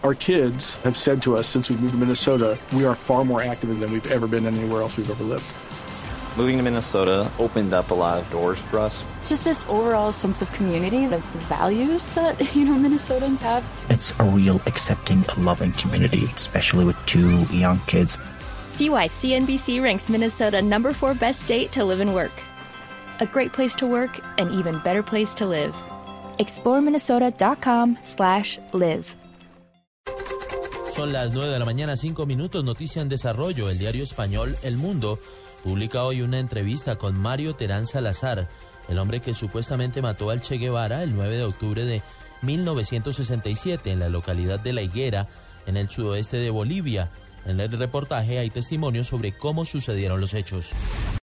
Our kids have said to us since we moved to Minnesota, we are far more active than we've ever been anywhere else we've ever lived. Moving to Minnesota opened up a lot of doors for us. Just this overall sense of community, the values that, Minnesotans have. It's a real accepting, loving community, especially with 2 young kids. See why CNBC ranks Minnesota number 4 best state to live and work. A great place to work, an even better place to live. ExploreMinnesota.com/live. Son las 9 de la mañana, 5 minutos. Noticia en desarrollo. El diario español El Mundo publica hoy una entrevista con Mario Terán Salazar, el hombre que supuestamente mató al Che Guevara el 9 de octubre de 1967 en la localidad de La Higuera, en el sudoeste de Bolivia. En el reportaje hay testimonios sobre cómo sucedieron los hechos.